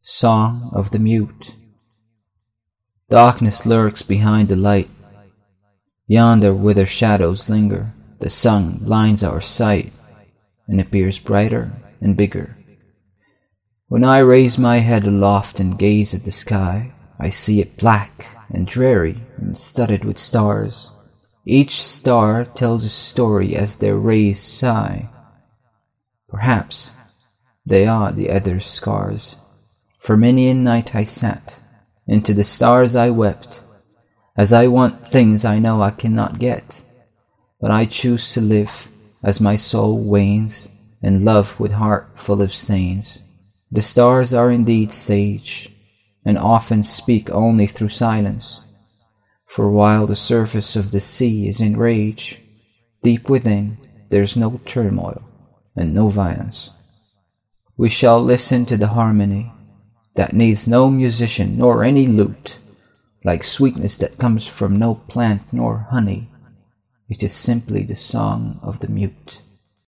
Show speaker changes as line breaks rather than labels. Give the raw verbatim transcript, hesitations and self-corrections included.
Song of the Mute. Darkness lurks behind the light. Yonder where their shadows linger, the sun blinds our sight, and appears brighter and bigger. When I raise my head aloft and gaze at the sky, I see it black and dreary and studded with stars. Each star tells a story as their rays sigh. Perhaps they are the other's scars. For many a night I sat, into the stars I wept, as I want things I know I cannot get. But I choose to live as my soul wanes, and love with heart full of stains. The stars are indeed sage, and often speak only through silence. For while the surface of the sea is in rage, deep within there's no turmoil and no violence. We shall listen to the harmony that needs no musician nor any lute, like sweetness that comes from no plant nor honey. It is simply the song of the mute.